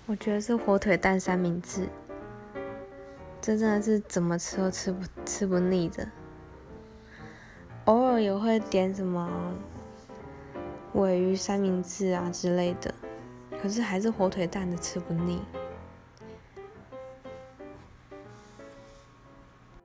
我觉得是火腿蛋三明治，这真的是怎么吃都吃不腻的。偶尔也会点什么鲔鱼三明治啊之类的，可是还是火腿蛋的吃不腻。